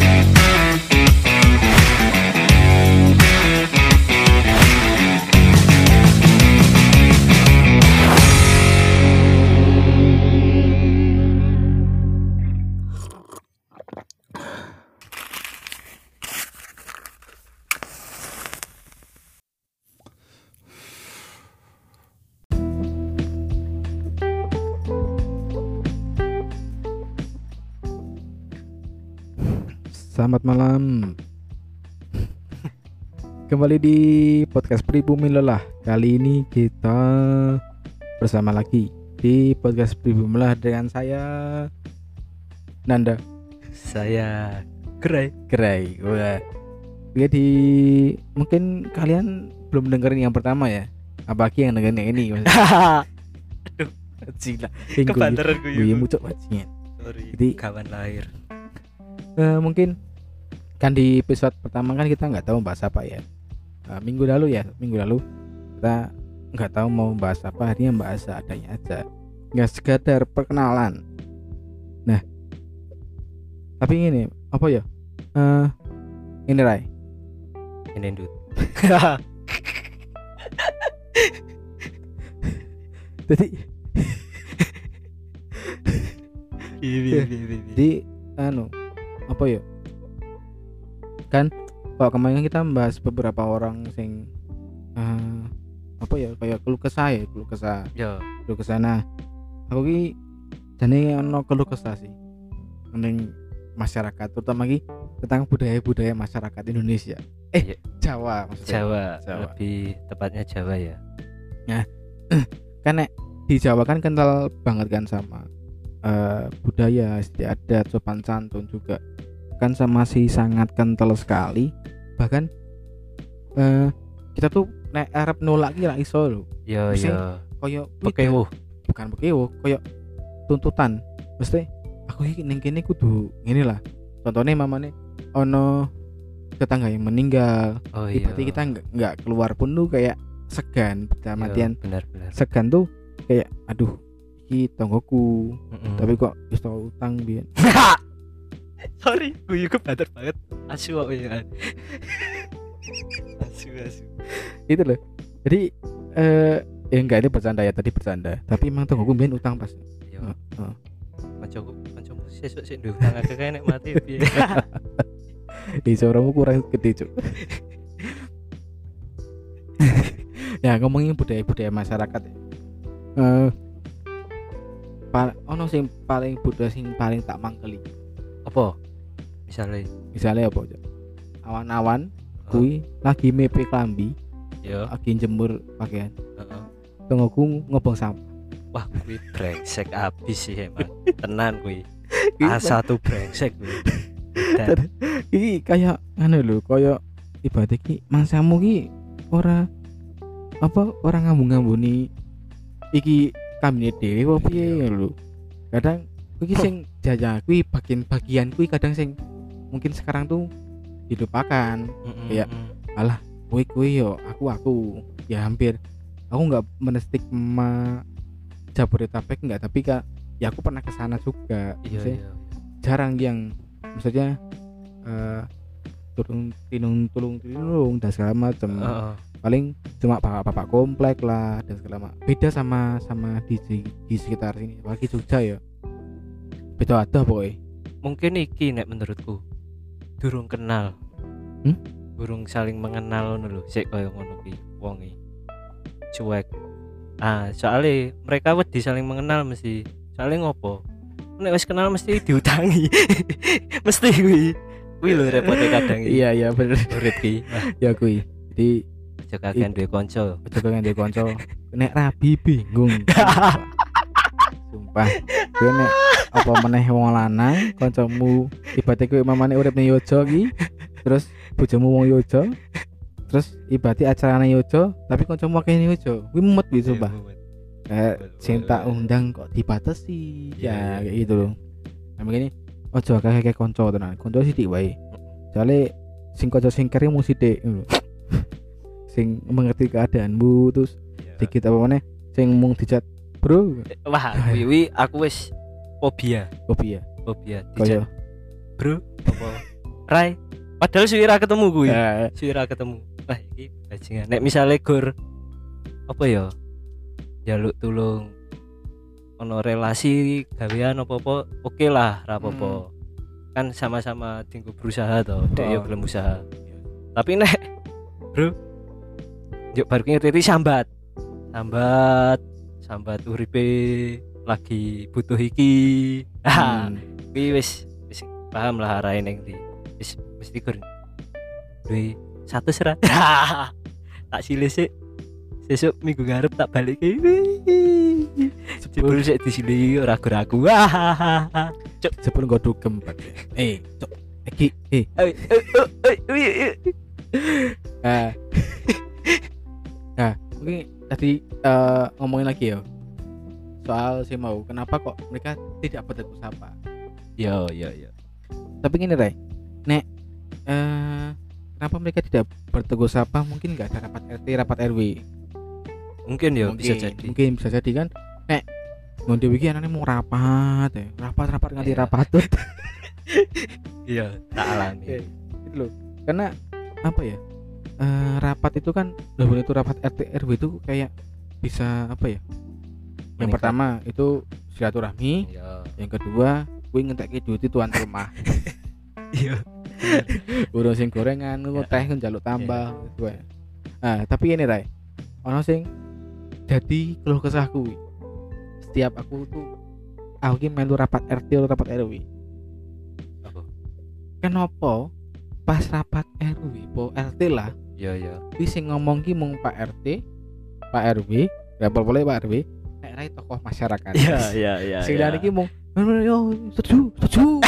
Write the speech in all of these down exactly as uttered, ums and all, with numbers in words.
Selamat malam. Kembali di podcast Pribumi Lelah. Kali ini kita bersama lagi di podcast Pribumi Lelah dengan saya Nanda. Saya Gerai. Gerai. Wah. Jadi mungkin kalian belum dengerin yang pertama ya. Apalagi yang dengerin yang ini. Aduh, Cila. kebanteran gue. Gue muncul bajingan. Sorry. Jadi kawan lahir. Uh, mungkin kan di episode pertama kan kita nggak tahu bahas apa ya. Uh, minggu lalu ya, minggu lalu kita nggak tahu mau bahas apa, akhirnya bahas adanya aja, nggak sekadar perkenalan. Nah, tapi ini apa ya? Uh, ini Rai. Ini Dut. Jadi, Jadi, jadi anu apa ya? Kan kalau kemarin kita membahas beberapa orang sing uh, apa ya kayak keluh kesah ya keluh kesah ya keluh kesah. Nah aku ki jane ono keluh kesah sih ning masyarakat, terutama ki tentang budaya-budaya masyarakat Indonesia eh ya. Jawa maksudnya Jawa, Jawa. lebih tepatnya Jawa ya. Nah kan nek di Jawa kan kental banget kan sama uh, budaya, istiadat, sopan santun juga kan sama si sangat kental sekali. Bahkan uh, kita tuh nek arep nolak ki ra iso lho. Yo Mesti yo. Koyo Bekewuh. bukan bekewo, koyo tuntutan. Mesti aku iki ning kene kudu ngene lah. Contohnya mamane ono tetangga yang meninggal. Oh iya. Berarti kita enggak enggak keluar pun tuh kayak segan, dalam Yo, artian benar-benar. segan tuh kayak aduh iki tonggoku. Mm-mm. Tapi kok wis tau utang biyen. Sorry, gue juga banter banget. Asu kok ya. Asu asu. Itu loh. Jadi eh ya enggak, ini bercanda ya, tadi bercanda. Tapi emang tonggoku biyen utang pas. Yo. Heeh. Kancaku kancaku sesuk sik nduk nang akeh nek mati piye. Di suaramu kurang gede, Cuk. Ya ngomongin budaya-budaya masyarakat ya. Eh pa- ono sing paling budaya sing paling tak mangkeli. Apa? Misalnya Misalnya apa aja? Awan-awan kui lagi mepe klambi, yo. lagi jemur pakaian. Heeh. Tonggoku ngobong sampah. Wah, kuwi brengsek abis sih emang. Tenan kuwi. A satu brengsek kuwi. Dan Iki kayak anu lho, kayak ibadah ki mangsamu ki ora apa orang ngambung-ngambuni iki kambine dhewe apa piye lho. Kadang iki sing jajah kuwi bagian-bagian kuwi kadang sing mungkin sekarang tuh dilupakan. Kayak alah kowe kowe yo aku aku ya hampir aku nggak menestigma Jabodetabek enggak, tapi kak ya aku pernah ke sana juga. iya Maksudnya iya. jarang yang maksudnya eh turun tinung tulung tulung dan segala macam. Heeh. Paling cuma bapak-bapak komplek lah dan segala macam. Beda sama sama di di sekitar sini, apalagi Jogja ya. Beda ada pokoknya. Mungkin iki nek menurutku durung kenal. Hmm? Durung saling mengenal ngono lho. Sik koyo ngono ki wonge. Cuek. Ah, soalnya mereka wedi saling mengenal mesti. Soalnya ngopo? Nek wis kenal mesti diutangi. Mesti kuwi. Kuwi lho repote kadang iki. Iya iya bener. Urip ki. Ya kuwi. Jadi Aja kakean duwe kanca. aja pengen dia konco. Nek rabi bingung. Sumpah. Kowe nek apa meneh wong lanang kancamu ibate kowe mamane urip ning Yojo ki, terus bojomu wong Yojo, terus ibate acarane Yojo, tapi kancamu akeh ning Yojo. Kuwi mumet iki sumpah. Kayak sing tak undang kok dibatasi. Ya kayak gitu loh. Nah begini, ojo akeh-akeh kanca tenan. Kanca sithik wae. Soale sing kanca sing kere mung sithik ngono. Sing mengerti keadaanmu, terus dikit apa meneh sing mung dicat, "Bro." Wah, kuwi aku wis fobia. Kopi ya. Fobia Kaya dicat. Bro, apa Rai padahal suwira ketemu kuwi Eh, suwira ketemu wah iki bajingan nek misale gor apa ya jaluk tulung ono relasi gawean apa-apa oke lah ra apa-apa kan sama-sama tinggu berusaha toh dek yo Oh. gelem usaha tapi nek bro yuk baru ngerti sambat sambat sambat uripe lagi butuh iki ah hmm. kuwi wis wis paham lah arahe ning ndi wis mesti gur duwe satu serat tak silih sik sesuk minggu ngarep tak balik jebul sik disili ora ragu cuk Jebul nggo dugem Pak. Eh, cok. Iki eh ah. Nah, mungkin tadi eh, ngomongin lagi ya soal si mau kenapa kok mereka tidak bertegur sapa. yo yo yo Tapi gini Ray, nek eh, kenapa mereka tidak bertegur sapa? Mungkin nggak ada rapat R T, rapat R W. mungkin ya Mungkin, bisa jadi Mungkin bisa jadi kan. Nek ngonde iki anane mau rapat ya. Rapat-rapat nganti Iya. rapatut. iya tak alami Gitu loh. Karena apa ya? Eh, rapat itu kan walaupun itu rapat R T R W itu kayak bisa apa ya? Yang Meningkat. pertama itu silaturahmi, iya yang kedua kuwi ngentekke duit tuan rumah. iya Urung sing gorengan, ngono Ya. teh njaluk tambah gitu ya. Nah, tapi ini Rai. Ono sing jadi keluh kesahku. Setiap aku tuh aku ki melu rapat R T atau rapat R W. apa Kenapa pas rapat R W, po R T lah, iya iya kuwi sing ngomong ki mung Pak R T, Pak R W, ya boleh Pak R W, nek rai tokoh masyarakat. iya iya iya Sing liyane ki mung yo setuju, setuju.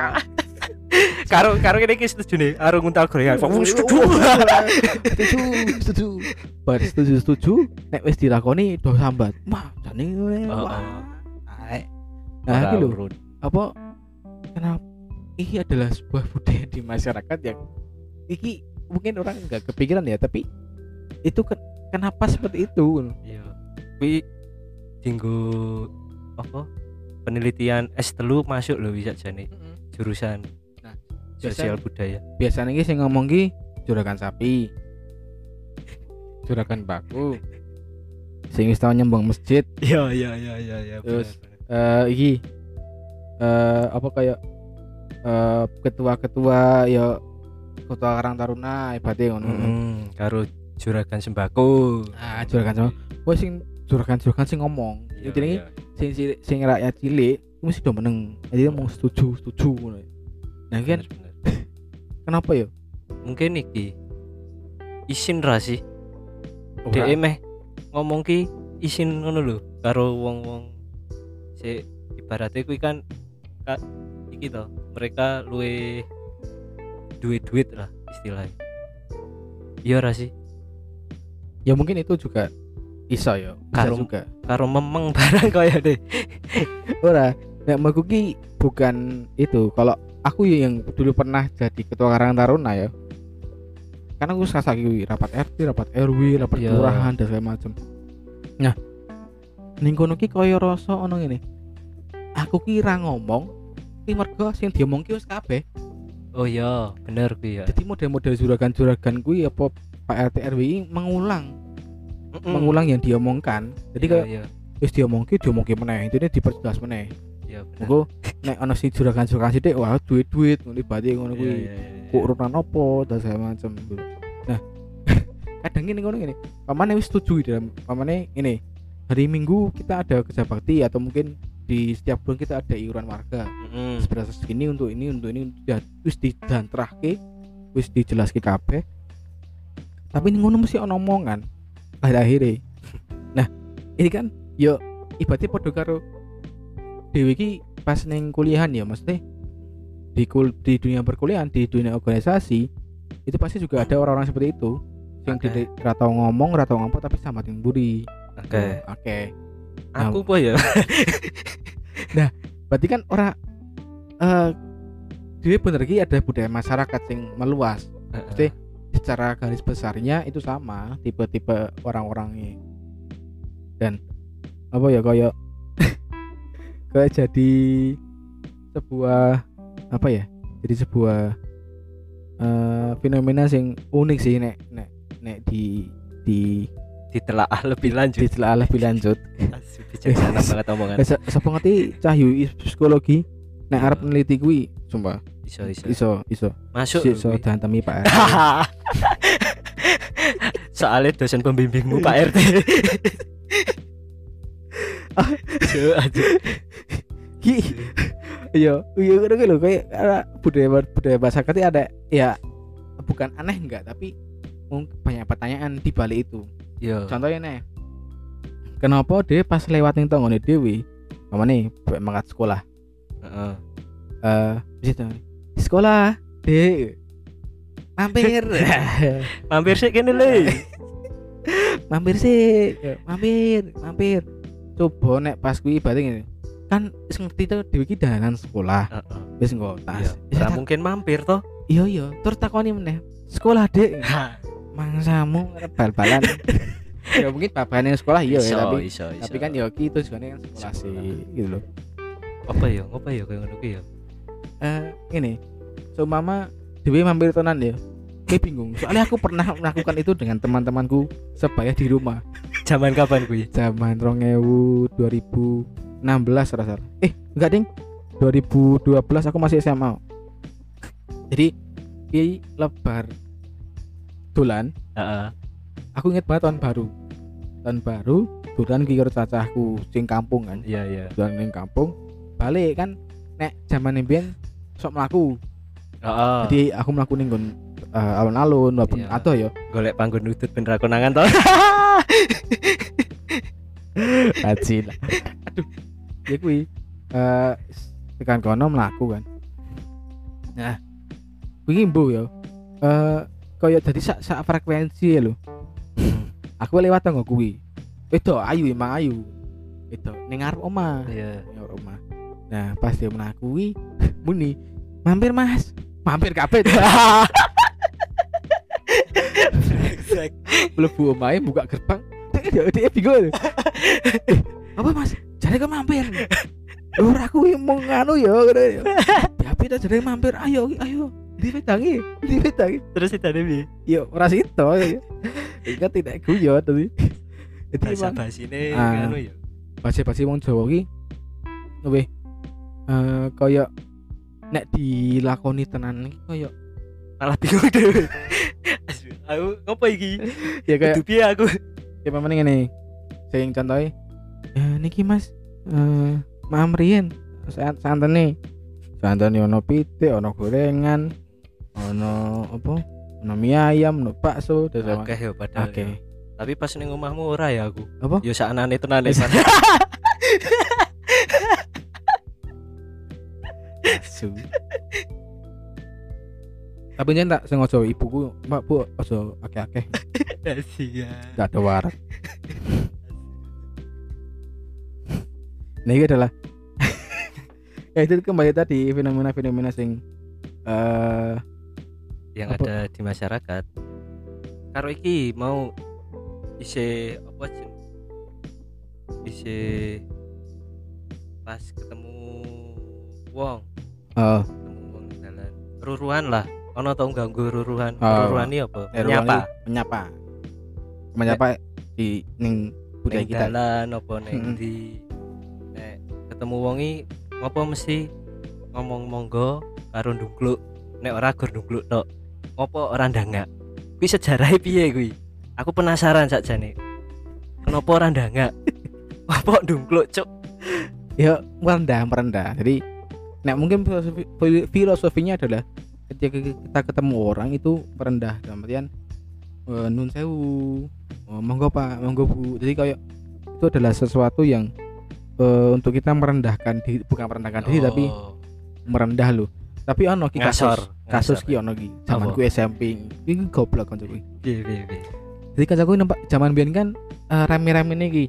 karo karo kene iki setuju nih karo nguntal gorengan kok wong setuju Setuju, setuju. Bar setuju, setuju. Nek wis dilakoni do sambat. Wah, jane ngene. Oh, Wah. oh. Ae. Nah, iki lho, urut. apa kenapa ini adalah sebuah budaya di masyarakat yang iki mungkin orang nggak kepikiran ya, tapi itu ke- kenapa seperti itu? iya kuwi dinggo apa penelitian S telu masuk lho bisa jane jurusan Nah, sosial biasa- budaya Biasanya ki sing ngomong ki juragan sapi, juragan baku, sing wis tau nyembang masjid, iya iya iya iya iya Terus, eh iki eh apa kayak eh ketua-ketua ya ketua Karang Taruna ibaratnya ngono. hmm, karo juragan sembako Ah, juragan sama. Wah sing juragan-juragan sing ngomong. Iya, Intinya iya. sing sing, sing rakyat cilik itu mesti do meneng. Jadi dia mau setuju, setuju ngono. Nah, iki kan Bener, bener. kenapa ya? mungkin iki isin ra sih Ora. dhek meh ngomong ki isin ngono lho karo wong-wong si ibaratnya kuwi kan ka, iki to mereka luwe duit-duit lah istilahnya iya ra sih Ya mungkin itu juga iso ya. Bisa Karo- juga. karo memeng barang kaya deh Ora, nek menurutku ki bukan itu. Kalau aku ya yang dulu pernah jadi ketua Karang Taruna ya. Karena aku sasa ki rapat R T, rapat R W, rapat Iya. kelurahan dan segala macam. Nah, ning kono ki kaya rasa ono ngene. Aku ki ra ngomong, ki mergo sing diomongke wis kabeh. oh iya bener kuwi ya Jadi model-model juragan-juragan kuwi apa Pak R T R W I mengulang, Mm-mm. mengulang yang diomongkan. Jadi Iya, kayak iya wis diomongke, diomongke meneh. Intine diperjelas meneh. iya bener Monggo nek ana sing juragan-juragan sithik wah duit-duit ngono ibate ngono Iya, kuwi. iya, iya, iya. Kok urutan apa dan segala macam gitu. Nah, kadang ini ngono ngene. Pamane wis setuju dalam pamane ini. Hari Minggu kita ada kerja bakti atau mungkin di setiap bulan kita ada iuran warga. Mm-mm. Seberapa segini untuk ini untuk ini udah wis dijantrahke, wis dijelaske kabeh. Tapi ini ngono mesti ono omongan akhir-akhire. Nah, ini kan yo ibaratnya padha karo dhewe iki pas ning kuliahan ya maksudnya di kul di dunia perkuliahan, di dunia organisasi itu pasti juga ada orang-orang seperti itu yang Oke. okay. Ora tau ngomong, ora tau ngomong tapi sambatin buri. Oke Oke. aku apa ya Berarti kan ora eh dia bener iki ada budaya masyarakat sing meluas. Mesti secara garis besarnya itu sama tipe-tipe orang-orangnya. Dan apa ya kayak kayak jadi sebuah apa ya? Jadi sebuah eh fenomena sing unik sih nek nek nek di di ditelaah lebih lanjut. ditelaah lebih lanjut. Asyik, bijaksana banget omongan. Eh, sapa ngerti Cahyu psikologi nek arep neliti kuwi sumpah Iso iso. iso iso Masuk. iso kuwi. dihantemi Pak R T. Soalnya dosen pembimbingmu Pak R T. Aduh, aduh. Ki iya iya ngono ki lho kayak ada budaya budaya masyarakat itu ada ya bukan aneh enggak tapi mungkin banyak pertanyaan di balik itu. Yo. Contohnya nih kenapa dia pas lewat ning tanggane dhewe mamane mangkat sekolah Heeh. eh bisa sekolah dek mampir Mampir sih kene le. mampir sih mampir mampir coba nek pas kuwi berarti ngene kan wis ngerti to dhewe iki dalanan sekolah Heeh. wis nggo tas Ora mungkin mampir toh. iya iya terus takoni meneh sekolah dek mangsamu bal-balan ya mungkin babane sekolah iya ya tapi iso, iso. tapi kan ya ki tujuane kan sekolah sih gitu loh apa ya? Apa ya kayak ngono ki ya? eh ini so mama dhewe mampir tenan ya kayak bingung soalnya aku pernah melakukan itu dengan teman-temanku sebaya di rumah Zaman kapan kuwi? zaman dua ribu dua ribu enam belas rasa eh enggak ding dua ribu dua belas aku masih S M A jadi ki lebar dolan Heeh. aku inget banget tahun baru tahun baru dolan ki karo cacahku sing kampung kan Iya, iya. dolan ning kampung balik kan nek zaman mbiyen sok mlaku Heeh. jadi aku mlaku ning nggon uh, alun-alun walaupun Iya. atau ya Golek panggon nutut ben ra konangan toh. Ajil. Aduh. Ya kuwi eh tekan kono mlaku kan. Nah, kuwi mbo ya. Eh kaya dadi sak sak frekuensi lho. Aku lewat tanggo kuwi. Itu ayu emang ayu. Itu ning ngarep omah. Iya. Ning ngarep omah. Nah, pas dia mlaku kuwi muni, "Mampir, Mas." Mampir kabeh. Mlebu omahe buka gerbang. Dia dia bingung. Eh, apa Mas? Jare kok mampir. Lho aku mau nganu ya ngono ya. Tapi ta jare mampir. Ayo ayo. Dipedangi, dipedangi. Terus itane piye? Yo ora sito ya. Iku tidak guyon tapi. Jadi Bahasa emang basine Ah. ngono ya. basi-basi wong Jawa ki luwih eh kaya nek dilakoni tenan iki kaya Malah bingung dhewe. Aduh, aku ngopo iki? ya kayak Kudu piye aku? ya memang ngene. Sing contohe eh niki Mas eh mamrien santene. Santene ono pitik, ono gorengan, ono apa? Ono mie ayam, ono bakso, terus apa? Akeh ya padahal. Oke. ya. Tapi pas ning omahmu ora ya aku. Apa? Ya saknane tenane. Asu. Tapi yen tak sengaja ibuku, Mbak Bu, aja akeh-akeh. Sia. Enggak ada warak. Nah, ini adalah ya itu kembali tadi fenomena-fenomena sing eh yang Apa? ada di masyarakat. Karo iki mau isi apa sih? Isi pas ketemu wong, oh, ketemu wong di dalan. Ruruhan lah. Ono tau ganggu ruruhan. Oh. Ruruhan iki apa? eh, Nyapa. menyapa. Menyapa di ning budaya Ning kita. dalan apa ning Mm-mm. di nek ketemu wongi ngopo mesti ngomong monggo karo ndungkluk. Nek ora gur ndungkluk tok. Ngopo ora ndangak? Kuwi sejarahe piye kuwi? Aku penasaran sakjane. Kenapa ora ndangak? Apa ndungkluk, Cuk? Ya merendah merendah. Jadi nek mungkin filosofi, filosofinya adalah ketika kita ketemu orang itu merendah dalam artian eh, nun sewu, oh, monggo Pak, monggo Bu. Jadi kayak itu adalah sesuatu yang eh, untuk kita merendahkan diri, bukan merendahkan diri tapi merendah loh. Tapi ono ki Ngasor, kasus, kasus ngasor. ki ono ki zamanku S M P. Iki goblok kanca kuwi. Piye piye piye. Jadi kancaku nampak zaman biyen kan eh, rame-rame iki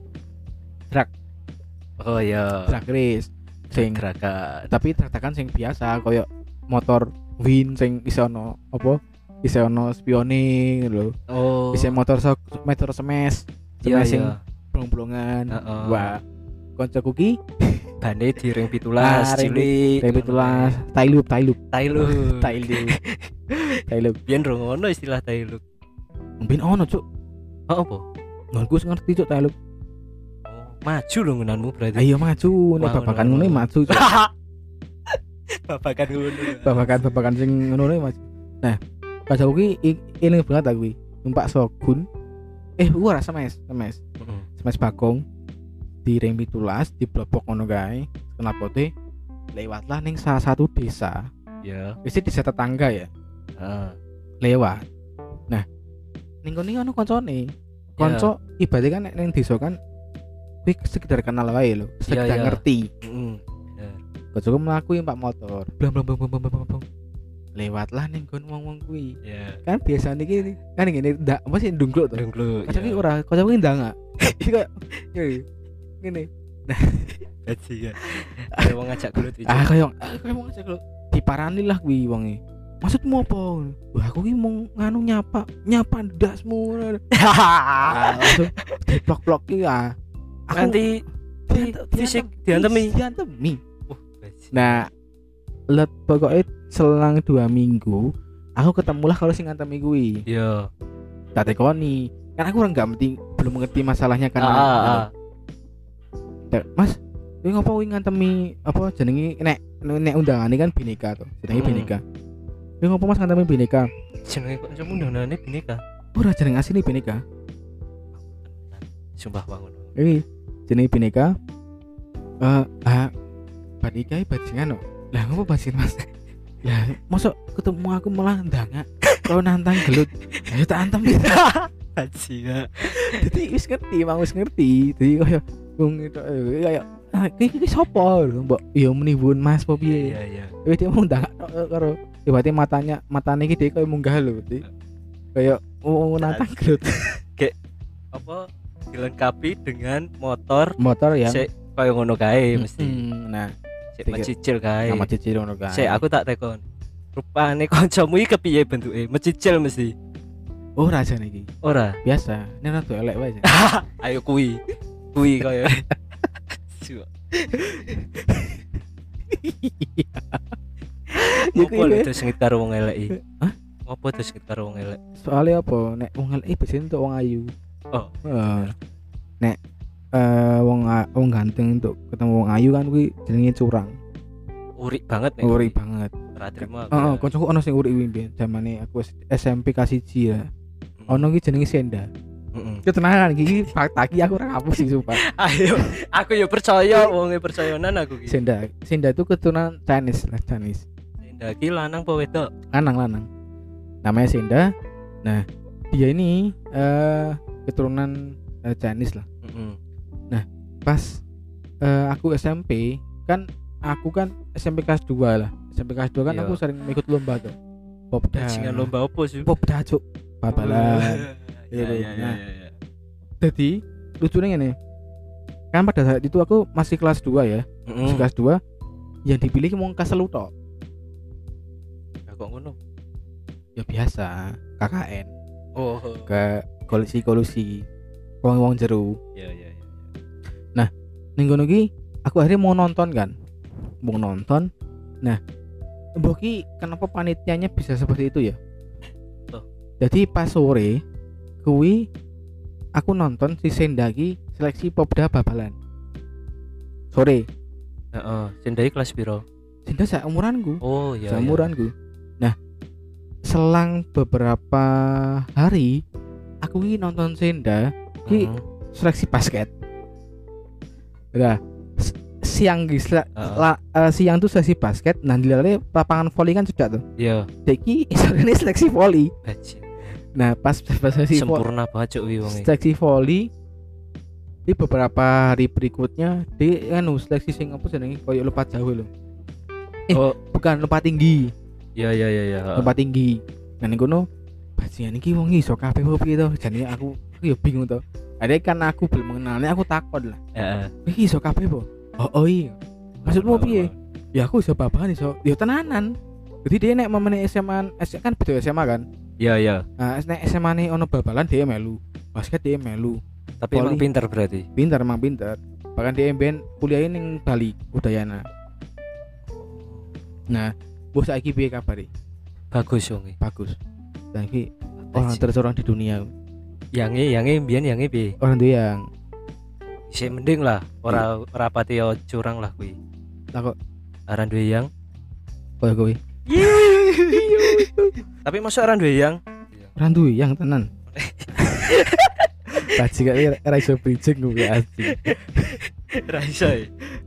Oh iya. drag race sing Gerakan. tapi tratakan sing biasa koyo motor win sing iso ono apa iso ono spioning lho. Oh. Bisa motor sok motor smash iya smash sing iya. blong-blongan. Heeh. Wah, kancaku ki bane di ring Ah, pitulas ring cilik. ring pitulas, tailup, tailup, Tailu. tailup, tailup. Biyen rong ono istilah tailu. Mungkin ono cuk, Oh apa? ngonku wis ngerti cuk tailup. Oh, maju lho ngunanmu berarti. Ayo maju, nek Mau, babakan mau, ngene mau. maju cuk. Babakan ngono. Babakan-babakan sing ngono ne maju. Nah, kancaku ki i- eling banget aku kuwi. Numpak Shogun. Eh, ora semes, semes. Heeh. Semes Bagong di ring pitulas di blobok ngono kae. Kenapote lewatlah ning salah satu desa. Ya. Wis desa tetangga ya. Heeh. Lewat. Nah, ning kono ono kancane. Kanca ibaratnya kan nek ning desa kan kuwi sekedar kenal wae lho, sekedar Iya, iya. ngerti. Heeh. Kancaku mlaku numpak motor. Blam blam blam blam blam blam, blam. Lewatlah ning kon wong-wong kuwi. Ya. Kan biasa niki kan ngene ndak apa sih ndungkluk to. Dengklu. Kancaku ora, kancaku ndang. Iki kayak iki ngene. Gaji ya. Ada wong ngajak gelut iki. Ah kayak ah, kayak wong ngajak lho. Diparani lah kuwi wonge. Maksudmu apa? Wah, aku ki mau nganu nyapa, nyapa ndasmu. Ah, langsung diplok-plok ki ya. Aku Nanti diantem- fisik diantem- diantemi. diantemi. Wah, gaji. Nah, let pokoknya selang dua minggu aku ketemulah kalau sing ngantemi kuwi. Iya. Tak tekoni. Kan aku orang nggak ngerti, belum mengerti masalahnya kan. Ah, ah, ah. Tek, Mas, kowe ngopo kuwi ngantemi apa jenenge nek nek undangane kan Bhinneka to. Jenenge Hmm. Bhinneka. Kowe ngopo Mas ngantemi Bhinneka? Jenenge kok cuma undang-undangane Bhinneka. Ora jeneng asline Bhinneka. Sumpah bangun. Iki jenenge Bhinneka. Eh, ah Bhinneka iki bajingan kok. Lah ngopo bajingan Mas? Lah, mosok ketemu aku malah ndangak. Kau nantang gelut. Ayo tak antem. Gaji ya. Jadi wis ngerti, emang wis ngerti. Jadi kaya wong itu kayak ah iki iki sapa lho, Mbok? Ya menimbun Mas apa piye? Iya, iya. Wis dia mau ndangak tok karo tiba-tiba matanya matane iki dhek kaya munggah lho, Dik. Kayak oh nantang gelut. Apa dilengkapi dengan motor Motor yang sik kaya ngono kae mesti. Mm, nah, Sik mecicil kae. nama cicil ngono kan. Sik aku tak tekon. Rupane kancamu iki kepiye bentuke? Mecicil mesti. Oh, raja niki. Ora. Biasa. Ini rada elek wae. Ayo kuwi. Kuwi kaya. Su. Ya Ngopo kuwi. lho terus ngit karo wong elek iki? Hah? Ngopo terus ngit karo wong elek? Soalnya apa? Nek wong elek biasanya untuk wong ayu. Oh. Heeh. Nek eh wong a- wong ganteng untuk ketemu wong ayu kan kuwi jenenge curang. Urik banget nek. Uri banget. Ora trimo aku. Heeh, ya. kancaku ono sing uri kuwi mbiyen zamane aku S M P kelas satu ya. Ono ki jenenge Senda. Heeh. Ketenaran iki fakta iki aku ora hapus sih sumpah. Ayo, aku ya percaya wonge percayanan aku ki. Senda, Senda itu keturunan Chinese lah, Chinese. Senda ki lanang apa wedok? Lanang-lanang. Namanya Senda. Nah, dia ini eh keturunan eh, Chinese lah. Heeh. Pas eh, aku S M P kan aku kan S M P kelas dua lah. S M P kelas dua kan Iya. aku sering ikut lomba tuh. Popda. Bajingan lomba opo sih? Popda cuk. Babalan. Iya Gitu. iya iya Nah. iya. Jadi lucunya ini. Kan pada saat itu aku masih kelas dua ya. Masih Heeh. kelas dua. Yang dipilih mau keselu tok. Kok ngono? Ya biasa, K K N Oh. ke kolusi-kolusi wong-wong jeru. Iya iya iya. Ning ngono ki aku akhirnya mau nonton kan. Mau nonton. Nah, mbok ki kenapa panitianya bisa seperti itu ya? Tuh. Jadi pas sore kuwi aku nonton si Senda ki seleksi Popda babalan. Sore. Heeh, Sendai kelas piro? Senda sak umuranku. Oh iya. Sak umuranku. Nah, selang beberapa hari aku ki nonton Senda ki Heeh. seleksi basket. Nah, s- siang ki sele- Heeh. la- eh, siang tuh seleksi basket, nah dilale lapangan voli kan cedak tuh. Iya, Deki ini seleksi voli. bajing. Nah, pas pas seleksi vo- Sempurna banget cuk wi wonge. seleksi voli di beberapa hari berikutnya di anu seleksi sing apa jenenge koyo lompat jauh lho. Eh, Oh, bukan lompat tinggi, iya iya iya iya. lompat tinggi. Nah ning kono bajingan iki wong iso kabeh opo piye to? Jane aku aku ya bingung to. Ada kan aku belum mengenalnya aku takon lah. Heeh. Iki iso kabeh po? Oh, oh iya. Maksudmu piye? Ya aku iso babahan iso. Ya tenanan. Jadi dia nek mamane S M A, S- kan beda S M A kan. Iya iya. Nah, nek S M A ne ono babalan dia melu. Basket dia melu. Tapi emang Voli. pinter berarti. Pintar emang pintar. Bahkan dia mben kuliah ning Bali, Udayana. Nah, bos saiki piye kabare? Bagus wong e. Bagus. Dan iki orang tercorong di dunia. Yange yange mbiyen yange piye? Orang tuh yang Isih mending lah, ora ora pati yo curang lah kuwi. lah kok Aran duwe yang. koyo kowe. Tapi masa aran duwe yang? Orang tuh yang tenan. Tadi gak era iso bridging gue asli. Ra iso e.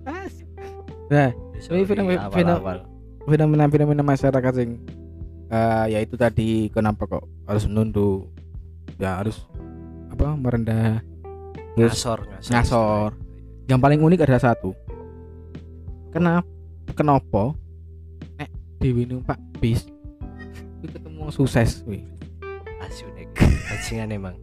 Nah, ini fenomena fenomena fenomena masyarakat sing uh, ya itu tadi kenapa kok harus menunduk, ya harus apa merendah, terus ngasor ngasor. ngasor. Yang paling unik ada satu. Kenapa? Kenapa? Nek Dewi numpak bis, itu ketemu sukses, wih. Asu nek bajingan emang.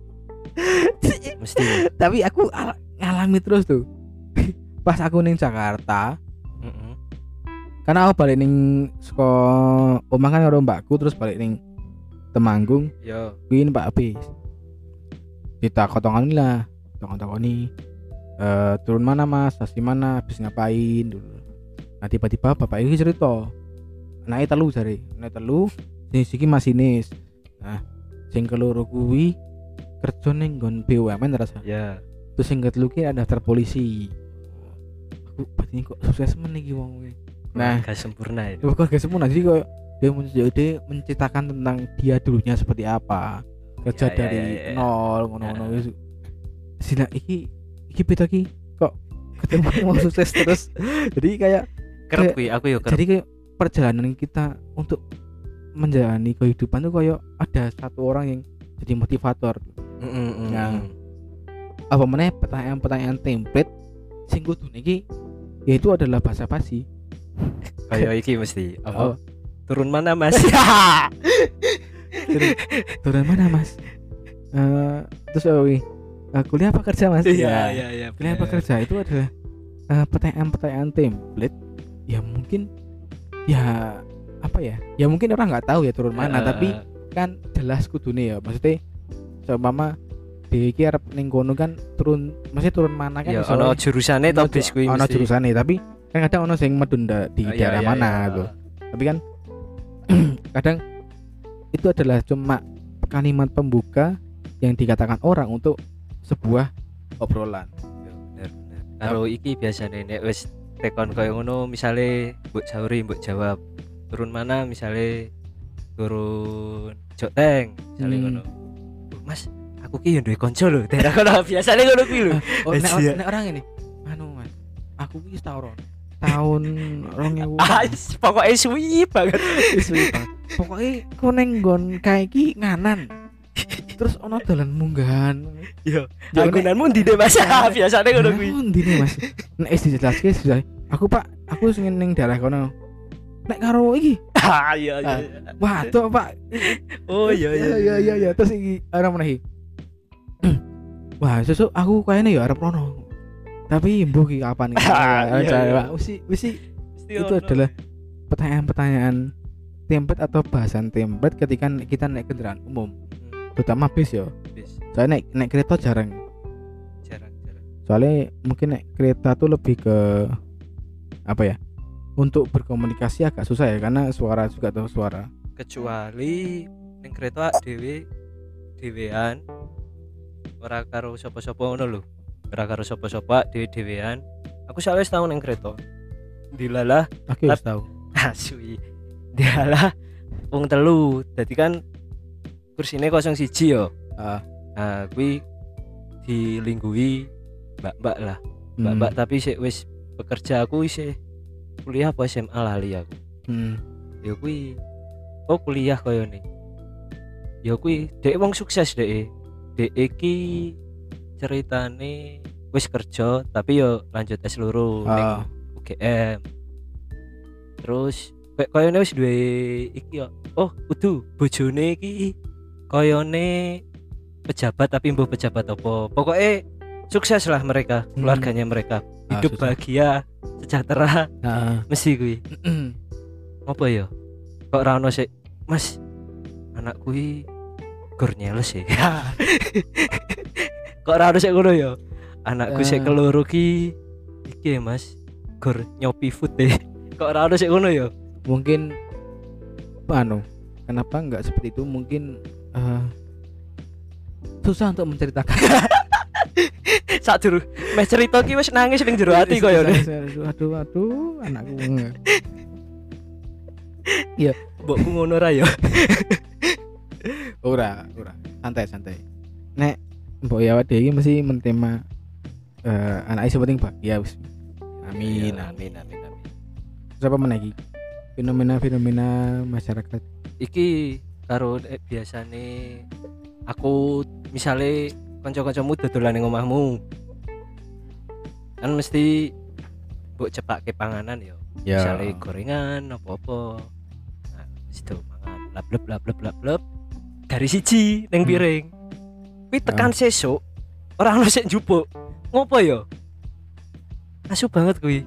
Mesti. Tapi aku al- ngalami terus tuh. Pas aku ning Jakarta, Heeh. karena aku balik ning saka omah kan karo mbakku terus balik ning Temanggung, Yo. kuwi numpak bis. Ditakon-takoni lah, takon-takoni eh turun mana Mas, stasiun mana, habis ngapain dulu. Nah tiba-tiba bapak ini cerita, anaknya telu jare, anaknya telu, sing siki masinis. Nah, sing keloro kuwi kerja ning nggon B U M N rasa. Ya. Terus sing ketelu ki ada daftar polisi. Aku berarti kok sukses men iki wong kuwi. Nah, Gak sempurna ya. bukan gak sempurna jadi kok dia men- dia menceritakan tentang dia dulunya seperti apa. Kerja Ya, ya, dari ya, ya, ya. nol ngono-ngono Ya. gitu. Sila iki iki beda ki kok ketemu mau sukses terus. Jadi kayak Kerep kuwi aku yo kerep. jadi kayak perjalanan kita untuk menjalani kehidupan tuh kayak ada satu orang yang jadi motivator. Heeh. Nah. Apa meneh pertanyaan-pertanyaan template sing kudune iki yaitu adalah bahasa basi. Kayak iki mesti Oh. apa? Turun mana Mas? Turun, turun mana Mas? Eh terus oh, wih, eh, kuliah apa kerja Mas? Iya iya iya. Kuliah apa kerja itu adalah eh, pertanyaan-pertanyaan template yang mungkin ya apa ya? Ya mungkin orang nggak tahu ya turun mana, tapi kan jelas kudune ya. Maksudnya seumpama di iki arep ning kono kan turun, maksudnya turun mana kan ya iso- ono jurusane to ono bis kuwi ono mesti. jurusane, tapi kan kadang ono sing medun da- di Oh, iya, daerah iya, mana iya. gitu. Tapi kan kadang itu adalah cuma kalimat pembuka yang dikatakan orang untuk sebuah obrolan. Ya, bener bener. Karo iki biasane nek wis tekon koyo ngono misale mbok jauri mbok jawab turun mana misale turun Joteng misale Hmm. ngono. Mas, aku ki yo duwe kanca lho. Daerah kono biasane ngono kuwi lho. Oh, nek, Asia. nek orang ini, anu Mas, aku ki tahun tahun rong ewu Ah, is- pokoknya suwi banget. pokoknya ku ning nggon kae iki nganan. Terus ono dalan munggahan. Yo, Ya, anggunanmu ndi deh Mas? Ah, biasane ngono kuwi. Ndi nih Mas? Nek wis dijelaske sudah. Aku Pak, aku sing ning daerah kono. Nek karo iki, Ah, iya iya. iya. waduh Pak. Oh iya iya. iya iya iya. Terus iki ana meneh iki. Wah, sesuk aku kayaknya ya arep rono. Tapi mbuh ki kapan iki? Ah, iya, iya. Pak, wis wis Mesti itu ono. adalah pertanyaan-pertanyaan template atau bahasan template ketika kita naik kendaraan umum, Hmm, terutama bis ya. bis. Soalnya naik naik kereta jarang. Jarang-jarang. Soalnya mungkin naik kereta tuh lebih ke apa ya? Untuk berkomunikasi agak susah ya karena suara juga tuh suara. Kecuali ning kereta dhewe dhewean ora karo sapa-sapa ngono lho. Ora karo sapa-sapa dhewe-dhewean. Aku sawise tau ning kereta. Dilalah Aku wis Tap- tahu. asui. Dilalah wong telu. Dadi kan kursine kosong siji yo. Ah. Nah, kuwi dilingguhi mbak-mbak lah. Hmm. Mbak-mbak tapi sik wis bekerja aku isih kuliah apa S M A lali aku. Hmm. Ya kuwi oh kuliah koyo nih. Ya kuwi dek wong sukses dek. Dek iki ceritane wis kerja tapi yo lanjut S loro ning Ah. U G M. Terus kayak koyone wis duwe iki yo. Oh, kudu bojone iki koyone pejabat tapi mbuh pejabat apa. Pokoknya sukses lah mereka, Hmm. keluarganya mereka. Ah, Hidup susah. bahagia, sejahtera Nah, mesti kuwi. Apa ya? Kok ora ono sik, Mas. Anakku iki gur nyeles ya. Kok ora ono sik ngono ya? Anakku sik Eh. keloro ki iki ya, Mas. Gor nyopi food deh. Kok ora ono sik ngono ya? Mungkin anu, kenapa enggak seperti itu? Mungkin eh, susah untuk menceritakan. Sak jero meh cerita ki wis nangis ning jero ati koyo ne. Aduh aduh anakku. Mbokku ngono ra ya. Ora, ora. Santai santai. Nek mbok ya awake iki mesti mentema eh anake sing penting bahagia wis. Amin, Ya, amin. amin, amin, amin. Terus apa meneh iki? Fenomena-fenomena masyarakat. Iki karo eh, biasane aku misale kanca-kancamu dodolan ning omahmu. Kan mesti mbok cepake panganan ya. Ya. Misale gorengan apa-apa. Nah, wis do mangan lablep lablep lablep dari siji ning Hmm. piring. Kuwi tekan sesuk ora ono sik njupuk. Ngopo ya? Asu banget kuwi.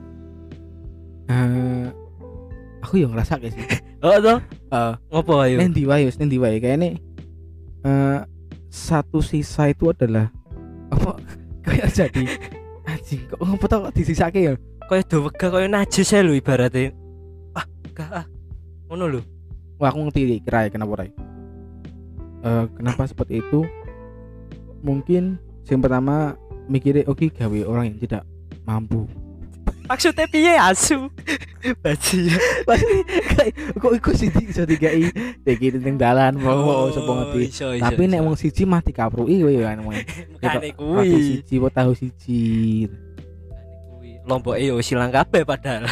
Eh, aku yang ngerasa kayak sih. Oh toh? Eh, Ngopo ayo? Nen di wae wis nen di wae kayaknya eh satu sisa itu adalah apa kayak jadi anjing kok ngopo tau kok disisake ya. Kaya do wegah kaya najis ae lho ibaratnya. Ah, gak ah. Ngono lho. Wah, aku ngerti kira kenapa Rai. Eh kenapa seperti itu? Mungkin yang pertama mikirnya oke gawe orang yang tidak mampu. Maksudnya piye asu? Baji. Pasti kayak kok iku sih iso digai iki ning dalan mau sapa ngerti. iso, iso, Tapi nek iso. wong siji mah dikapruki kowe ya kan. Makane Roti kuwi. siji apa tahu siji. Makane kuwi. Lomboke yo silang kabeh padahal.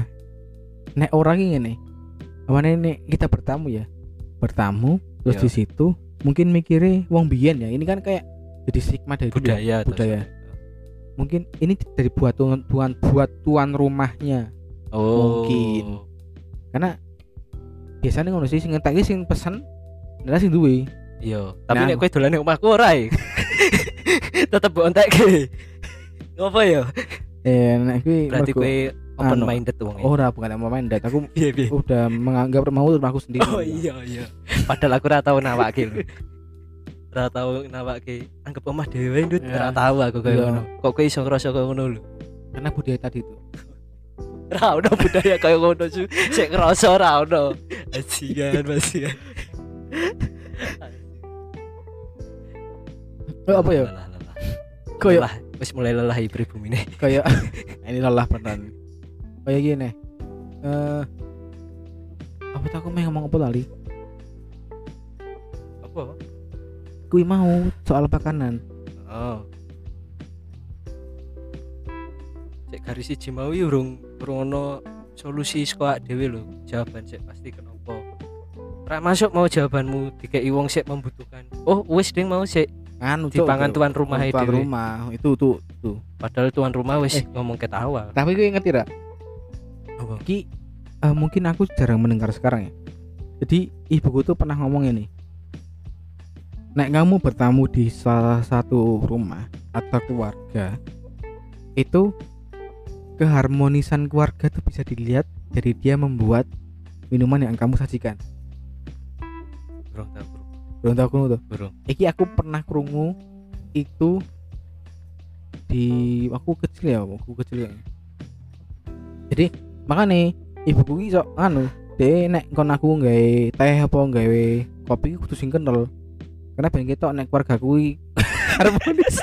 Nek orang ini ngene. Awane nek kita bertamu ya. Bertamu terus Iya. di situ mungkin mikirnya wong biyen ya. Ini kan kayak jadi stigma dari dulu ya, Budaya toh, budaya. Sob. Mungkin ini dari buat tuan tuan buat tuan rumahnya. Oh. Mungkin. Karena biasanya ngono sih sing ngetek sing pesen adalah sing duwe. Iya, tapi Nah. nek kowe dolan ning omahku ora e. Tetep mbok entekke. Ngopo ya? Eh nek kuwi Berarti mergo- kowe open anu. minded wong e. ora bukan mau main dat aku Piye piye? udah menganggap rumahku rumahku sendiri. Oh iya iya. Padahal aku ora tau nawake lho. Ora tau nawake. Anggap omah dhewe ndut Ya. ora tau aku koyo Iya. ngono. Kok kowe iso ngrasa koyo ngono lho. Karena budaya tadi itu. Ora ono budaya koyo ngono su. Sik ngrasa ora ono. Ajian basian. Oh, apa ya? Lelah, lelah. Koyo Lelah, wis mulai lelah pribumi nih. kayak ini lelah beneran. Kayak gini. Eh apa tuh aku mau ngomong apa tadi? Apa? Kui mau soal makanan. Oh. Cek garis siji mau ya urung urung ono solusi saka dhewe lho. Jawaban sik pasti kenapa. Ora masuk mau jawabanmu dikei wong sik membutuhkan. Oh, wis ding mau sik Anu dipangan tuan rumah tuan dhewe. rumah itu tuh tuh. Padahal tuan rumah wis Eh. ngomong ket awal. Tapi gue ngerti tak? Apa? Ki eh, mungkin aku jarang mendengar sekarang ya. Jadi ibuku tuh pernah ngomong ini. Nek kamu bertamu di salah satu rumah atau keluarga, itu keharmonisan keluarga tuh bisa dilihat dari dia membuat minuman yang kamu sajikan. Burung tahu, burung. Belum tahu krungu tuh. Burung. Iki aku pernah krungu itu di aku kecil ya, aku kecil ya. Jadi makanya ibuku iki sok anu, deh nek kon aku nggawe teh apa nggawe kopi kudu sing kental. Karena ben ketok nek keluarga kuwi harmonis.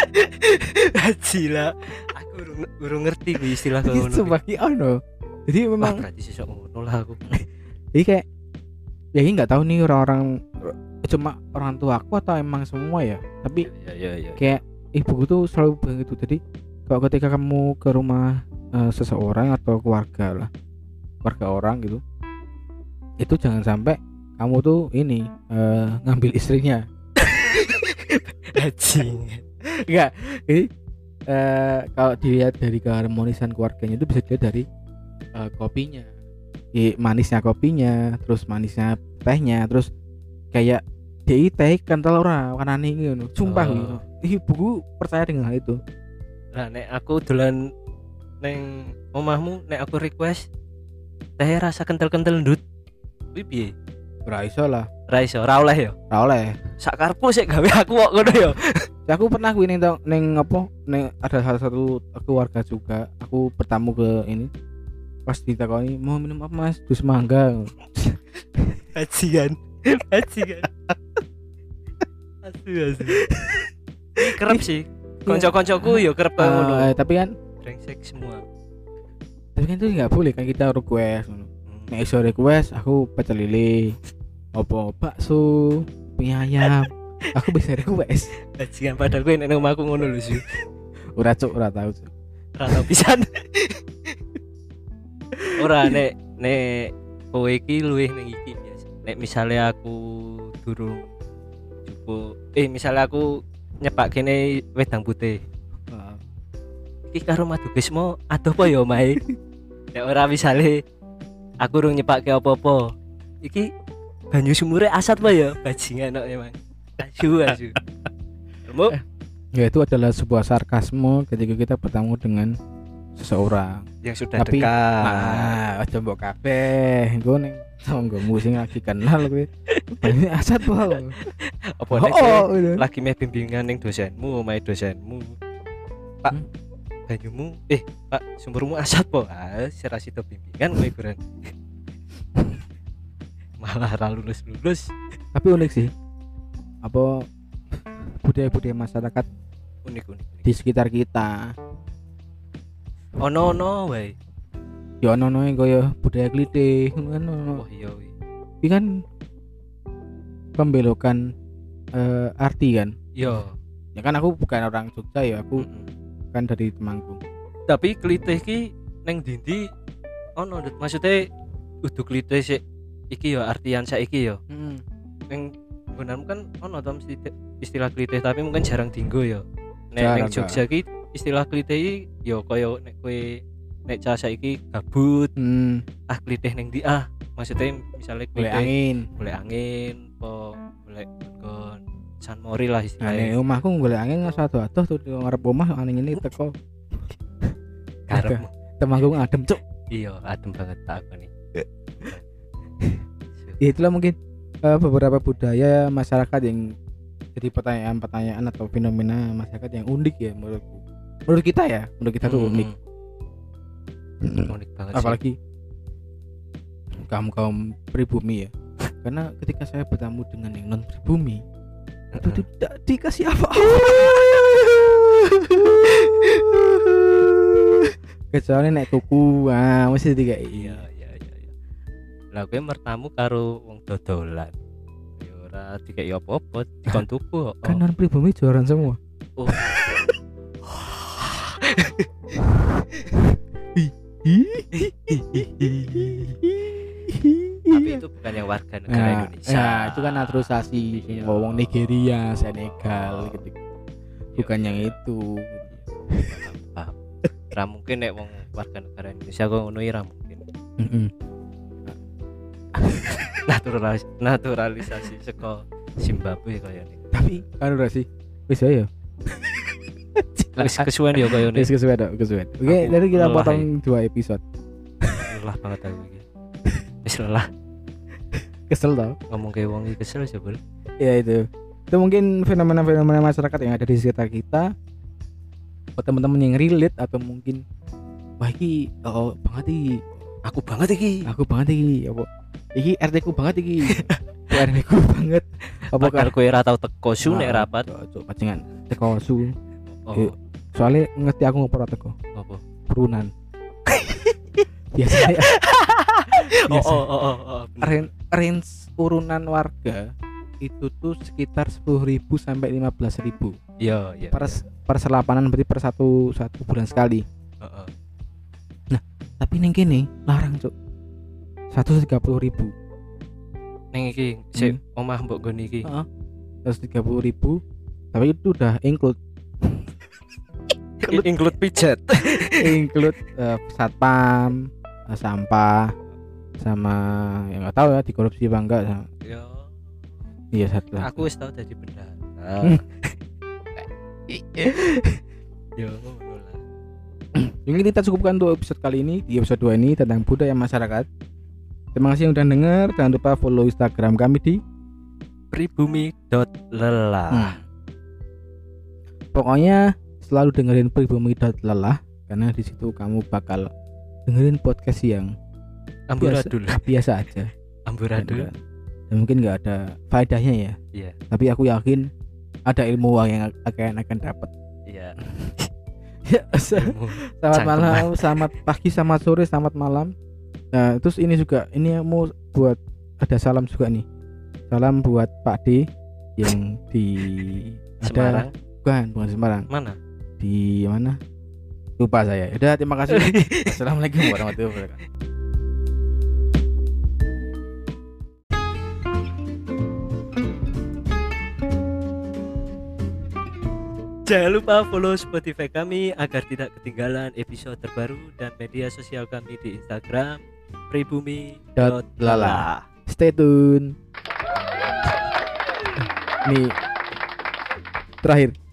Gila. Aku urung urung ngerti kuwi istilah koyo ngono. Sumpah ki ono. Jadi Wah, memang berarti sesuk ngono lah aku. jadi kayak ya ini nggak tahu nih orang-orang cuma orang tua aku atau emang semua ya. Tapi Ya ya ya. kayak ibuku tuh selalu bilang gitu. Jadi kalau ketika kamu ke rumah eh, seseorang atau keluarga lah, keluarga orang gitu, itu jangan sampai kamu tuh ini eh, ngambil istrinya. Anjing. Enggak, ini eh, kalau dilihat dari keharmonisan keluarganya itu bisa dilihat dari eh, kopinya, I, manisnya kopinya, terus manisnya tehnya, terus kayak dia teh kental ora warnane ngono. Sumpah Oh. gitu. Ibuku percaya dengan hal itu. Nah, nek aku dolan neng omahmu, nek aku request teh rasa kental-kental ndut. Kuwi piye? Ora iso lah. Ra iso, ra oleh ya. Ora oleh. Sak karepmu sik gawe aku kok ngono ya. Aku pernah kuwi ning ning apa ning ada salah satu keluarga juga. Aku bertamu ke ini. Pas ditakoni, "Mau minum apa, Mas?" "Jus mangga." Bajingan. Bajingan. Asu asu. Kerep sih. Kanca-kancaku ya kerep kaya ngono. Eh, tapi kan Brengsek semua. tapi kan itu nggak boleh kan kita request ngono. Nek iso request aku pecel lele. Apa bakso, mie ayam. Aku bisa request. Bajingan padahal gue nek omahku ngono lho sih. Ora cuk, ora tahu cuk. Ora tau pisan. Ora nek nek kowe iki luwih ning iki biasa. Nek misale aku durung cukup eh misale aku nyepak kene wedang putih. Heeh. Iki karo Madukismo adoh apa ya omahe? Nek ora misale aku urung nyepake apa-apa. Iki banyu sumure asat apa ya? Bajingan kok emang. Asu asu. Kamu Ya itu adalah sebuah sarkasme ketika kita bertemu dengan seseorang. yang sudah Tapi dekat. ah, aja mbok kabeh. Engko ning tanggomu sing lagi kenal kowe. Banyu asat wae. Apa nek kowe Oh, oh, lagi meh bimbingan ning dosenmu, omahe dosenmu. Pak, Hmm? banyumu eh Pak, sumbermu asat po. Ah, sira sida bimbingan kowe kuran. Malah ra lulus-lulus. Tapi unik sih. Apa budaya-budaya masyarakat Unik-unik. di sekitar kita. Ono ono wae. Ya ono-ono yang kaya budaya klitih ngono kan ono. Oh iya wi. Iki kan pembelokan eh, arti kan. Yo. Ya kan aku bukan orang Jogja ya, aku Mm-mm. kan dari Temanggung. Tapi klitih ki neng dindi ono Dut. Maksudnya udah klitih sih iki yo artian saiki yo. Heeh. Neng gunanmu kan ono to mesti te- istilah klitih tapi mungkin jarang dinggo yo. Nek Jarang, neng Jogja ki istilah klitih iki yo koyo nek kowe nek cah saiki gabut Hmm, ah klitih neng di ah maksudnya misalnya boleh klitih angin. boleh angin po boleh gon San Mori lah Nah, istilahnya. nek omahku boleh angin satu atuh tuh di ngarep omah angin ini teko. Karepmu. Temanggung adem, Cuk. Iya adem banget tak aku nih. Ya itulah mungkin eh, beberapa budaya masyarakat yang jadi pertanyaan-pertanyaan atau fenomena masyarakat yang unik ya menurutku. Menurut kita ya, menurut kita tuh unik. Mm-mm. Unik banget sih. Apalagi kaum kaum pribumi ya. Karena ketika saya bertemu dengan yang non pribumi itu Mm-mm. tidak dikasih apa-apa. Kecuali naik tuku, ah mesti dikai. Iya iya iya iya. Lah kowe mertamu karo wong dodolan. Ya ora dikeki apa-apa, dikon tuku kok. Kan non pribumi jualan semua. Oh. Tapi itu bukan yang warga negara Nah, Indonesia. ya, itu kan naturalisasi Iya. ngomong Nigeria, Senegal gitu. Bukan yang itu. Paham. Ra mungkin nek wong warga negara Indonesia kok ngono ya ra mungkin. Heeh. Naturalis naturalisasi saka Zimbabwe kaya nih. Tapi kan udah sih. Wis ya. Wis kesuwen ya kaya nih. Wis kesuwen dok, kesuwen. Oke, Aku jadi kita lelah potong dua episode. Lelah banget aku iki. Wis lelah Kesel tau. ngomong kayak wong iki kesel coba. Ya itu. Itu mungkin fenomena-fenomena masyarakat yang ada di sekitar kita. Buat teman-teman yang relate atau mungkin wah iki oh banget iki. Aku banget iki. Aku banget iki. Apa? Iki R T ku banget iki. R T ku banget. Apa Bakal kowe ra tau teko su nek Ah, rapat. Cok, pacingan. Teko su. Oh, Yuk. Soalnya ngerti aku ngopo ora teko. apa? Turunan. Biasanya Oh, biasa. oh, oh, oh, oh. Range, range urunan warga itu tuh sekitar sepuluh ribu sampai lima belas ribu Iya, iya. per per selapanan, berarti per satu satu bulan sekali. Heeh. Tapi neng kene larang cuk, seratus tiga puluh ribu. Ning iki sik Hmm. omah mbok nggon iki. Heeh. Seratus tiga puluh ribu, tapi itu udah include I- Include pijat. include eh, satpam, eh, sampah, sama yang nggak tahu ya dikorupsi apa enggak. Sama, Yo, iya satu lah. aku wis tau dadi bendahara. Hmm. Yo, ngono lah. Mungkin kita cukupkan untuk episode kali ini. Di episode dua ini tentang budaya masyarakat. Terima kasih yang udah denger. Jangan lupa follow Instagram kami di Pribumi dot lelah. Hmm. pokoknya selalu dengerin Pribumi dot lelah karena di situ kamu bakal dengerin podcast yang biasa, Amburadul. biasa aja. Amburadul. Dan, dan mungkin nggak ada faedahnya ya. Iya. Tapi aku yakin ada ilmu yang akan akan dapat. Iya. Ya, selamat malam, selamat pagi, selamat sore, selamat malam. Nah, terus ini juga ini mau buat ada salam juga nih. Salam buat Pak D yang di Semarang. ada, bukan, bukan Semarang. Mana? Di mana? Lupa saya. Udah, terima kasih. Assalamualaikum warahmatullahi wabarakatuh. Jangan lupa follow Spotify kami agar tidak ketinggalan episode terbaru dan media sosial kami di Instagram pribumi dot lala. Stay tune. Nih terakhir